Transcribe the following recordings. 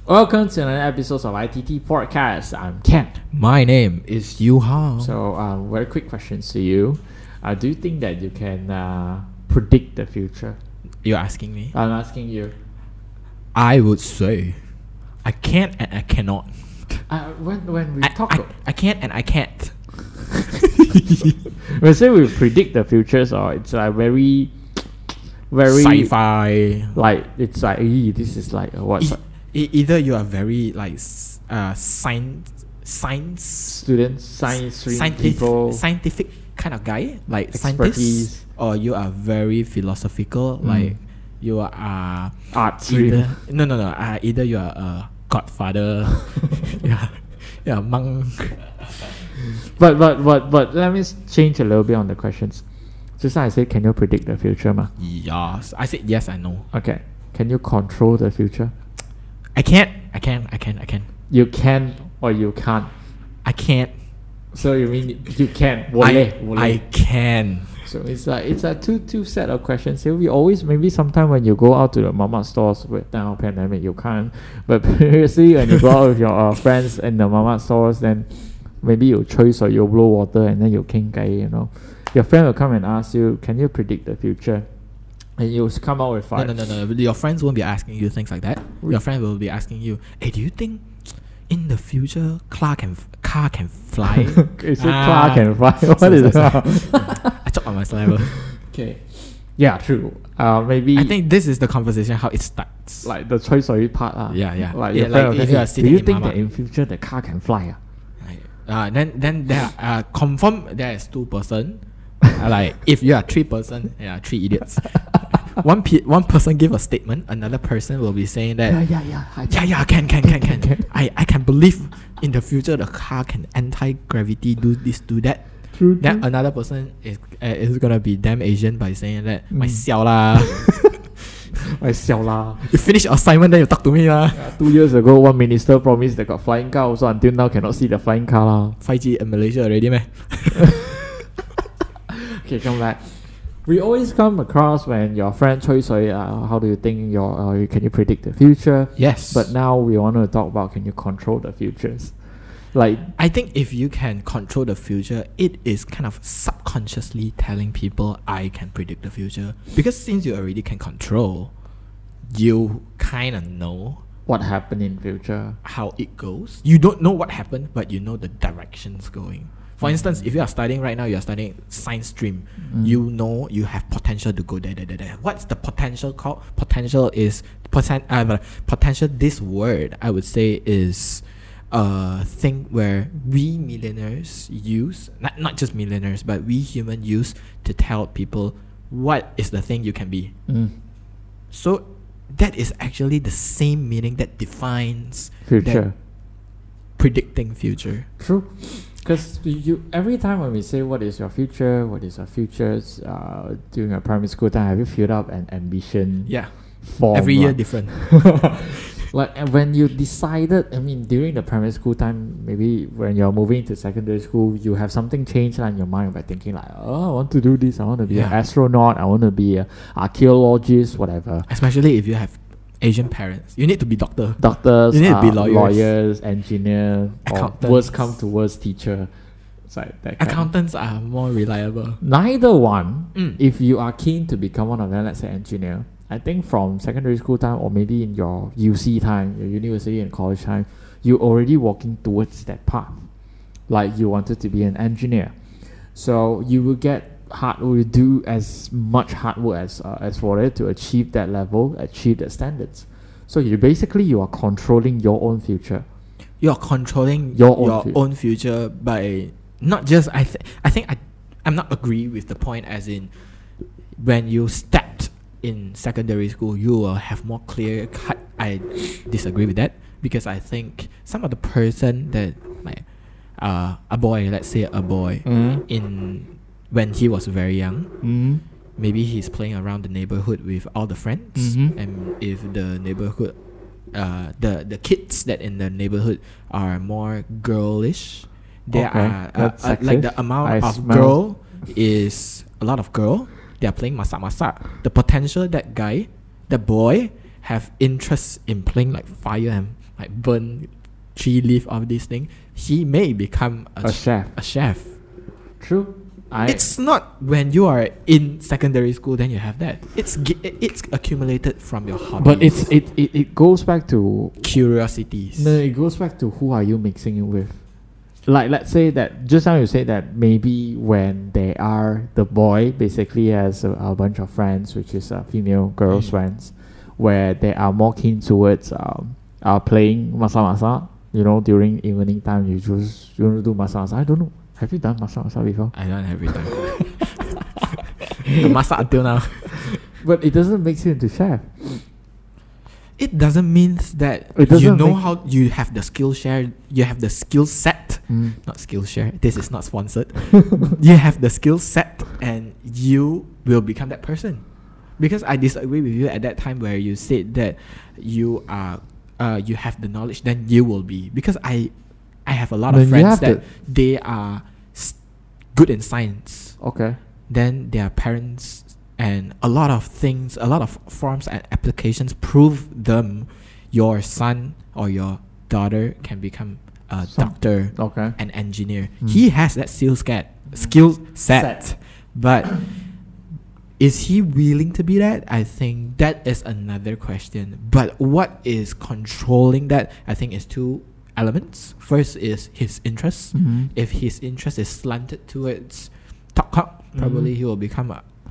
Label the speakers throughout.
Speaker 1: Welcome to another episode of ITT Podcast. I'm Ken.
Speaker 2: My name is Yu Hao.
Speaker 1: So, very quick questions to you. Do you think that you can predict the future?
Speaker 2: You're asking me?
Speaker 1: I'm asking you.
Speaker 2: I would say I can't and I cannot.
Speaker 1: When we talk,
Speaker 2: I can't and I can't.
Speaker 1: we say we predict the future, so it's like very
Speaker 2: Sci-fi.
Speaker 1: Like it's like this is like what
Speaker 2: Either you are very like science
Speaker 1: students, science stream people,
Speaker 2: scientific kind of guy, like
Speaker 1: expertise,
Speaker 2: scientist, or you are very philosophical, like you are
Speaker 1: art stream.
Speaker 2: Either you are a godfather, yeah, monk.
Speaker 1: But let me change a little bit on the questions. Just like I said, can you predict the future, ma?
Speaker 2: Yes, I said yes. I know.
Speaker 1: Okay, can you control the future?
Speaker 2: I can.
Speaker 1: You can or you can't.
Speaker 2: I can't.
Speaker 1: So you mean you can?
Speaker 2: I can.
Speaker 1: So it's a two set of questions here. We always maybe sometime when you go out to the mama stores with now pandemic you can't. But previously when you go out with your friends in the mama stores, then maybe you choice or you blow water and then you king guy, you know. Your friend will come and ask you, can you predict the future? And you come out with five.
Speaker 2: No. Your friends won't be asking you things like that. Your friend will be asking you, hey, do you think in the future car can fly?
Speaker 1: Is it car can fly? What is that?
Speaker 2: I choked on my saliva.
Speaker 1: Okay. Yeah, true. Maybe
Speaker 2: I think this is the conversation how it starts.
Speaker 1: like the choice of part.
Speaker 2: Yeah.
Speaker 1: Like
Speaker 2: Yeah,
Speaker 1: your friend
Speaker 2: like
Speaker 1: will
Speaker 2: if you are
Speaker 1: say, do
Speaker 2: sitting
Speaker 1: you
Speaker 2: in
Speaker 1: think
Speaker 2: mama.
Speaker 1: that in future the car can fly?
Speaker 2: Then there are confirm there is 2 person. Like if you are 3 person, 3 idiots. One person give a statement, another person will be saying that can. I can believe in the future the car can anti-gravity do this do that.
Speaker 1: True.
Speaker 2: Then another person is gonna be damn Asian by saying that my xiao lah.
Speaker 1: I xiao lah.
Speaker 2: You finish your assignment then you talk to me lah.
Speaker 1: 2 years ago, one minister promised they got flying car. Also, until now cannot see the flying car lah.
Speaker 2: 5G in Malaysia already meh?
Speaker 1: Okay, come back. We always come across when your friend choice how do you think can you predict the future?
Speaker 2: Yes.
Speaker 1: But now we want to talk about can you control the futures? Like
Speaker 2: I think if you can control the future, it is kind of subconsciously telling people I can predict the future. Because since you already can control, you kind of know
Speaker 1: what happened in future.
Speaker 2: How it goes. You don't know what happened, but you know the directions going. For instance, if you are studying right now, you are studying science stream. You know you have potential to go there. What's the potential called? Potential is potential. This word I would say is a thing where we millionaires use, not just millionaires, but we human use to tell people what is the thing you can be. So that is actually the same meaning that defines
Speaker 1: future.
Speaker 2: Predicting future.
Speaker 1: True. Because you every time when we say what is your future, during your primary school time, have you filled up an ambition?
Speaker 2: Yeah.
Speaker 1: Form,
Speaker 2: every year different.
Speaker 1: Like and when you decided, I mean, during the primary school time, maybe when you're moving to secondary school, you have something changed in your mind by thinking like, oh, I want to do this. I want to be an astronaut. I want to be an archaeologist, whatever.
Speaker 2: Especially if you have Asian parents, you need to be doctors.
Speaker 1: You need to be
Speaker 2: lawyers,
Speaker 1: engineer,
Speaker 2: accountants.
Speaker 1: Or worst come to worst, teacher. It's like that
Speaker 2: accountants are more reliable.
Speaker 1: Neither one. If you are keen to become one of them, let's say engineer, I think from secondary school time or maybe in your UC time, your university and college time, you already walking towards that path. Like you wanted to be an engineer, so you will do as much hard work as for it to achieve that level, achieve the standards. So you are controlling your own future.
Speaker 2: You are controlling your own future by not just I'm not agree with the point as in when you stepped in secondary school you will have more clear cut. I disagree with that because I think some of the person that like a boy, let's say a boy in when he was very young, maybe he's playing around the neighborhood with all the friends, and if the neighborhood the kids that in the neighborhood are more girlish, there are like the amount of girl is a lot of girl. They are playing masak. The potential that guy, the boy, have interest in playing like fire and like burn 3 leaf of this thing, he may become
Speaker 1: a chef.
Speaker 2: A chef.
Speaker 1: True.
Speaker 2: It's not when you are in secondary school then you have that. It's accumulated from your hobbies.
Speaker 1: But it goes back to
Speaker 2: curiosities.
Speaker 1: No, it goes back to who are you mixing it with. Like, let's say that just now you said that maybe when the boy basically has a bunch of friends, which is female girls friends, where they are more keen towards playing masak-masak. During evening time, you want to do masak-masak. I don't know. Have you done masak-masak before?
Speaker 2: I don't every time. The masak until now.
Speaker 1: But it doesn't make you into chef.
Speaker 2: It doesn't mean that how you have the skill share, you have the skill set, not skill share. This is not sponsored. You have the skill set, and you will become that person. Because I disagree with you at that time where you said that you have the knowledge, then you will be. Because I have a lot of friends that they are good in science.
Speaker 1: Okay.
Speaker 2: Then their parents and a lot of things, a lot of forms and applications prove them your son or your daughter can become a doctor, an engineer. He has that skill set. But is he willing to be that? I think that is another question. But what is controlling that? I think is 2 elements. First is his interest. If his interest is slanted towards talk, probably he will become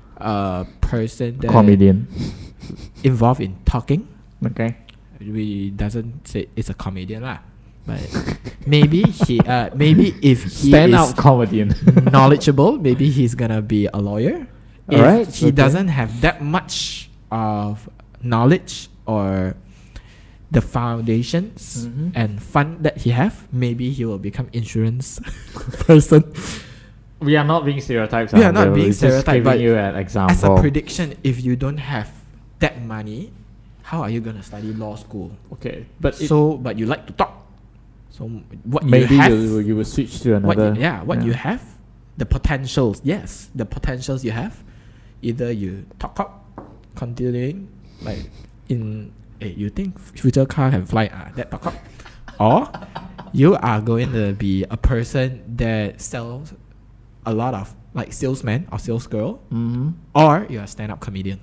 Speaker 2: a person that
Speaker 1: comedian
Speaker 2: involved in talking.
Speaker 1: Okay.
Speaker 2: We doesn't say it's a comedian lah. But maybe maybe if he
Speaker 1: stand
Speaker 2: is
Speaker 1: out comedian
Speaker 2: knowledgeable, maybe he's gonna be a lawyer. If he doesn't have that much of knowledge or the foundations and fund that he have, maybe he will become insurance person.
Speaker 1: We are not being stereotypes.
Speaker 2: We are not being stereotyped, but
Speaker 1: you an example.
Speaker 2: As a prediction, if you don't have that money, how are you gonna study law school?
Speaker 1: Okay,
Speaker 2: but you like to talk. So what
Speaker 1: maybe
Speaker 2: you have,
Speaker 1: you will switch to another.
Speaker 2: You have, the potentials. Yes, the potentials you have. Either you talk, continuing like in. You think future car can fly? That talk, or you are going to be a person that sells a lot of like salesman or sales girl, or you're a stand-up comedian.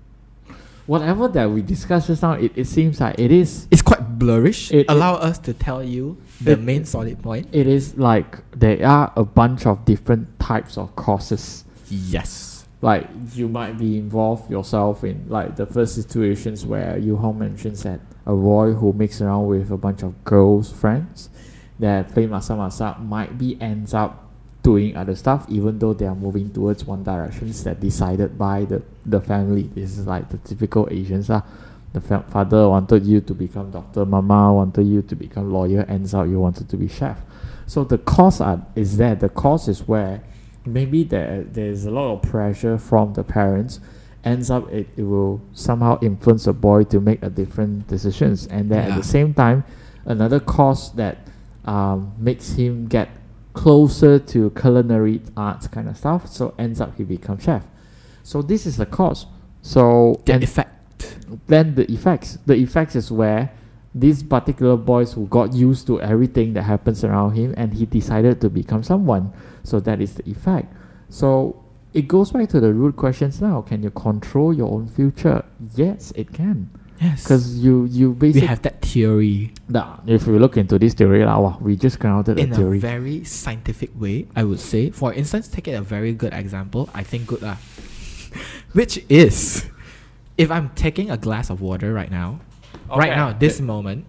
Speaker 1: Whatever that we discussed just now, it seems like it's
Speaker 2: quite blurrish. Allow us to tell you the main solid point.
Speaker 1: It is like there are a bunch of different types of courses.
Speaker 2: Yes.
Speaker 1: Like you might be involved yourself in like the first situations where Yu-Hong mentions that a boy who mixes around with a bunch of girls' friends that play masak-masak might be ends up doing other stuff, even though they are moving towards one direction that decided by the family. This is like the typical Asians. The father wanted you to become doctor, mama wanted you to become lawyer, ends up you wanted to be chef. So the cause is there. The cause is where maybe there's a lot of pressure from the parents. Ends up it will somehow influence the boy to make a different decisions. And then at the same time, another cause that makes him get closer to culinary arts kind of stuff, so ends up he becomes chef. So this is the cause. So
Speaker 2: the effect.
Speaker 1: Then the effects is where these particular boys who got used to everything that happens around him and he decided to become someone. So that is the effect. So it goes back to the root questions now. Can you control your own future? Yes, it can.
Speaker 2: Yes.
Speaker 1: Because you basically...
Speaker 2: We have that theory.
Speaker 1: If we look into this theory, we just grounded a theory.
Speaker 2: In a very scientific way, I would say. For instance, take a very good example. I think good lah. Which is, if I'm taking a glass of water right now, this moment,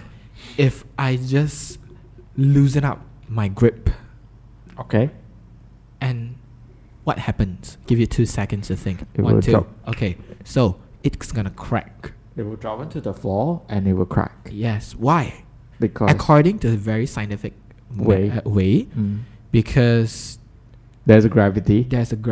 Speaker 2: if I just loosen up my grip, and what happens? Give you 2 seconds to think.
Speaker 1: It will drop.
Speaker 2: Okay, so it's gonna crack.
Speaker 1: It will drop into the floor and it will crack.
Speaker 2: Yes. Why?
Speaker 1: Because
Speaker 2: according to the very scientific way, because
Speaker 1: there's a gravity.
Speaker 2: There's a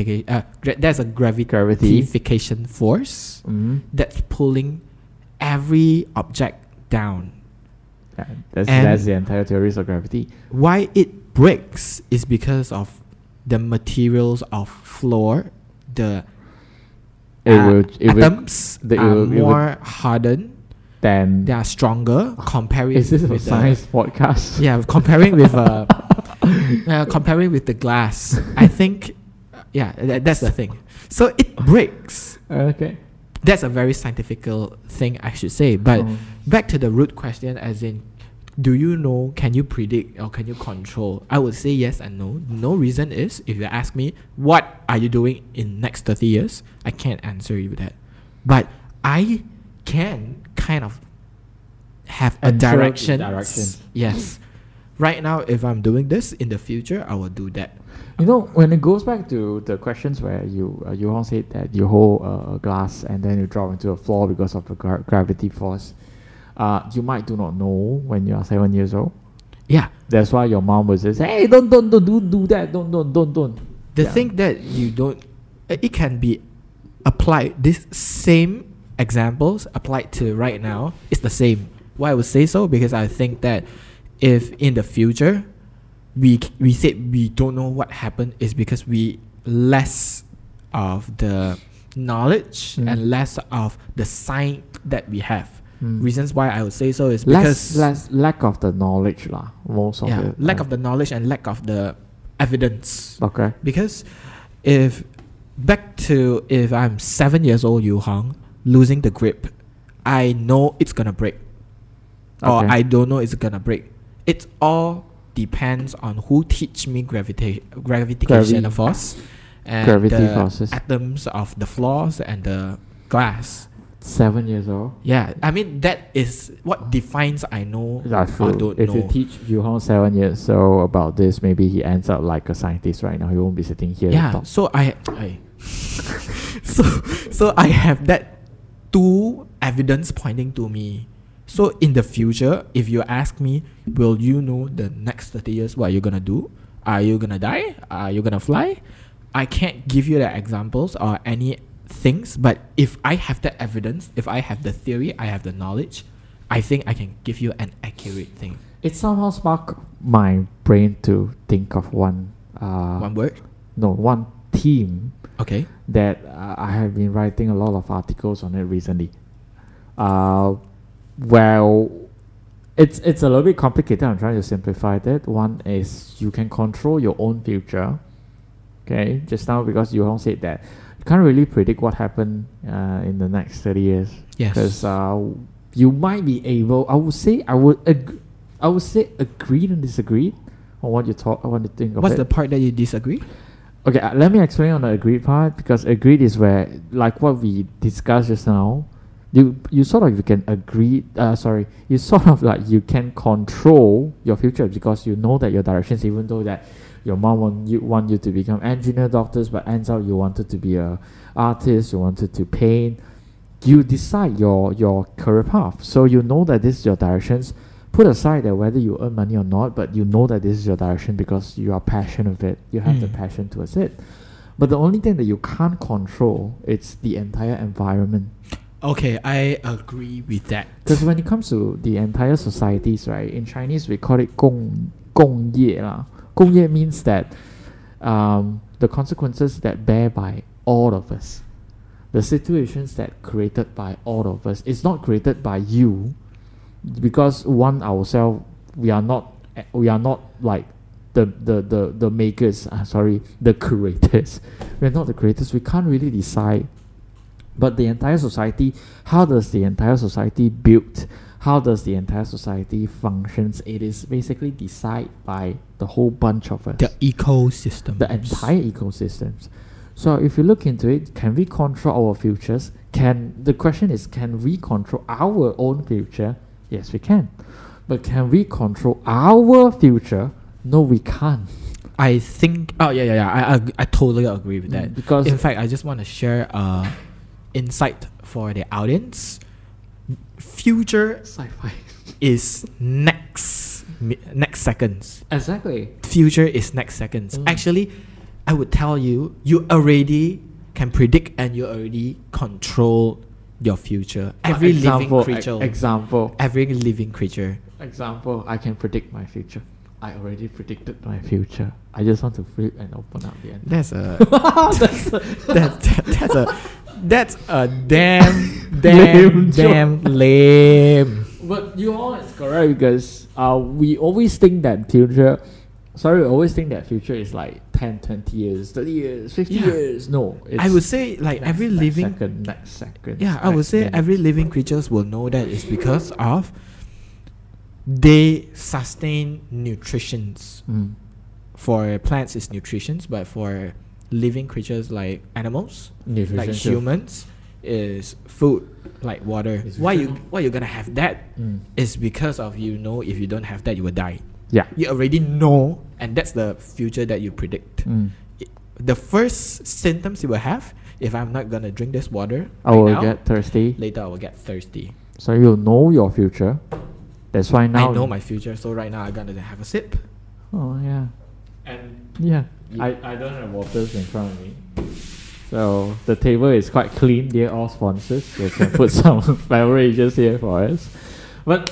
Speaker 2: gravitational force that's pulling every object down.
Speaker 1: Yeah, that's the entire theories of gravity.
Speaker 2: Why it breaks is because of the materials of floor. The atoms are more hardened
Speaker 1: then
Speaker 2: they are stronger. Comparing
Speaker 1: is this a
Speaker 2: with
Speaker 1: science podcast?
Speaker 2: Yeah, comparing with comparing with the glass. I think, that's the thing. So it breaks.
Speaker 1: Okay.
Speaker 2: That's a very scientific thing, I should say. But back to the root question, as in, do you know, can you predict or can you control? I would say yes and no. No reason is, if you ask me, what are you doing in next 30 years? I can't answer you that. But I can kind of have a direction. Yes. Right now, if I'm doing this, in the future, I will do that.
Speaker 1: You know, when it goes back to the questions where you all said that you hold a glass and then you drop into a floor because of the gravity force, you might do not know when you are 7 years old.
Speaker 2: Yeah.
Speaker 1: That's why your mom would say, hey, don't do that, don't.
Speaker 2: The thing that you don't, it can be applied, this same examples applied to right now is the same. Why I would say so? Because I think that if in the future, we said we don't know what happened, is because we less of the knowledge and less of the science that we have. Reasons why I would say so is because
Speaker 1: less lack of the knowledge lah. Most of it.
Speaker 2: Lack of the knowledge and lack of the evidence.
Speaker 1: Okay.
Speaker 2: Because if I'm 7 years old, Yu Hong, losing the grip, I know it's gonna break, or I don't know it's gonna break. It all depends on who teach me gravitation force and the forces, atoms of the floors and the glass.
Speaker 1: 7 years old.
Speaker 2: Yeah, I mean that is what defines I know or don't
Speaker 1: if
Speaker 2: know.
Speaker 1: you teach Yu Hong 7 years old about this, maybe he ends up like a scientist right now. He won't be sitting here.
Speaker 2: Yeah, so I so I have that two evidence pointing to me. So in the future, if you ask me, will you know the next 30 years what you're gonna do? Are you gonna die? Are you gonna fly? I can't give you the examples or any things, but if I have the evidence, if I have the theory, I have the knowledge, I think I can give you an accurate thing.
Speaker 1: It somehow sparked my brain to think of one
Speaker 2: word?
Speaker 1: No, one theme.
Speaker 2: Okay.
Speaker 1: That I have been writing a lot of articles on it recently. Well, it's a little bit complicated. I'm trying to simplify that. One is you can control your own future. Okay, just now because Yu Hong said that you can't really predict what happened in the next 30 years.
Speaker 2: Yes.
Speaker 1: Because you might be able. I would say agree and disagree on what you talk. I want to think of.
Speaker 2: What's the part that you disagree?
Speaker 1: Okay, let me explain on the agreed part, because agreed is where, like what we discussed just now, you sort of you can agree. You sort of like you can control your future because you know that your directions, even though that your mom want you to become engineer, doctors, but ends up you wanted to be a artist, you wanted to paint. You decide your career path, so you know that this is your directions. Put aside that whether you earn money or not, but you know that this is your direction because you are passionate with it. You have the passion towards it. But the only thing that you can't control, it's the entire environment.
Speaker 2: Okay, I agree with that.
Speaker 1: Because when it comes to the entire societies, right, in Chinese we call it 共业啦. 共业 means that the consequences that bear by all of us, the situations that created by all of us, it's not created by you. Because ourselves, we are not like the makers. The creators. We're not the creators. We can't really decide. But the entire society, how does the entire society build? How does the entire society functions? It is basically decided by the whole bunch of us.
Speaker 2: The ecosystem.
Speaker 1: The entire ecosystems. So if you look into it, can we control our futures? The question is, can we control our own future? Yes, we can. But can we control our future? No, we can't.
Speaker 2: I think... Oh, yeah. I totally agree with that.
Speaker 1: Because
Speaker 2: in fact, I just want to share insight for the audience. Future
Speaker 1: sci-fi
Speaker 2: is next seconds.
Speaker 1: Exactly.
Speaker 2: Future is next seconds. Actually, I would tell you, you already can predict and you already control your future. Every living creature. Every living creature.
Speaker 1: Example, I can predict my future. I already predicted my future. I just want to flip and open up the end.
Speaker 2: That's a damn lame.
Speaker 1: But you all is correct because we always think that future is like 10, 20 years, 30 years, 50 years. No.
Speaker 2: I would say like every living
Speaker 1: second.
Speaker 2: Yeah, I would say every living creatures will know that it's because of they sustain nutritions. For plants it's nutritions, but for living creatures like animals, like humans, is food, like water. Why you gonna have that? Is because of if you don't have that you will die.
Speaker 1: Yeah,
Speaker 2: you already know, and that's the future that you predict. The first symptoms you will have, if I'm not gonna drink this water,
Speaker 1: I will get thirsty.
Speaker 2: Later I will get thirsty.
Speaker 1: So you know your future. That's why now
Speaker 2: I know my future. So right now I'm gonna have a sip.
Speaker 1: Oh yeah.
Speaker 2: And
Speaker 1: I don't have waters in front of me, so the table is quite clean. They're all sponsors. They can put some beverages here for us. But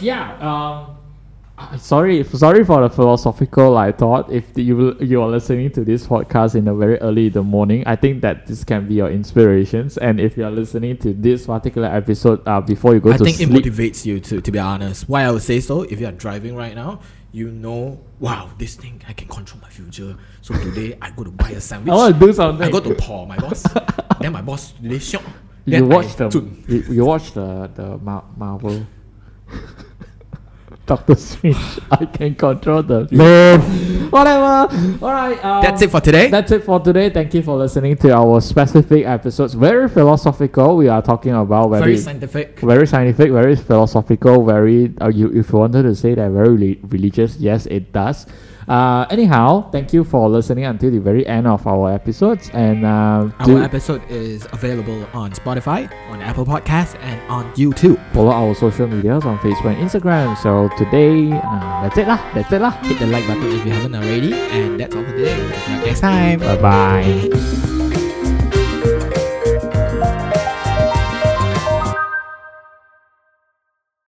Speaker 1: sorry for the philosophical thought. If you are listening to this podcast in the very early in the morning, I think that this can be your inspirations. And if you are listening to this particular episode before you go to sleep, I think
Speaker 2: it motivates you to be honest. Why I would say so? If you are driving right now, wow, this thing I can control my future. So today I go to buy a sandwich.
Speaker 1: I want to do something.
Speaker 2: I go to Paul, my boss. Then my boss today shock.
Speaker 1: You watch the Marvel. Doctor Strange. I can control the whatever. Alright,
Speaker 2: that's it for today.
Speaker 1: Thank you for listening to our specific episodes. Very philosophical. We are talking about very scientific, very philosophical, very if you wanted to say that very religious, yes it does. Anyhow, thank you for listening until the very end of our episodes. And our
Speaker 2: episode is available on Spotify, on Apple Podcasts, and on YouTube.
Speaker 1: Follow our social medias on Facebook and Instagram. So today, that's it lah.
Speaker 2: Hit the like button if you haven't already. And that's all for today. We'll see you next time.
Speaker 1: Bye bye.